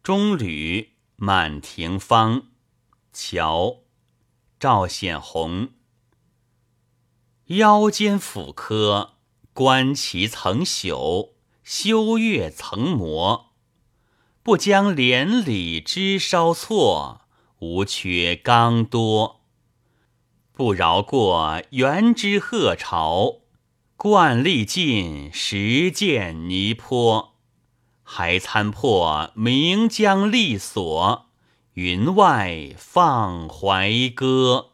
中吕满庭芳，乔赵显宏。腰间斧刻，观其曾朽，修月曾磨。不将连理枝稍错，无缺刚多。不饶过元之鹤巢，惯历尽实践泥坡。还参破岷江利索，云外放怀歌。